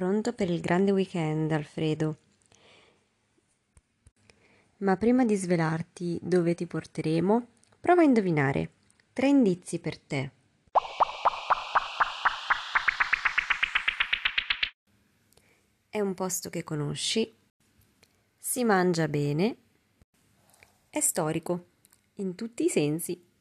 Pronto per il grande weekend, Alfredo. Ma prima di svelarti dove ti porteremo, prova a indovinare. 3 indizi per te. È un posto che conosci, si mangia bene, è storico, in tutti i sensi.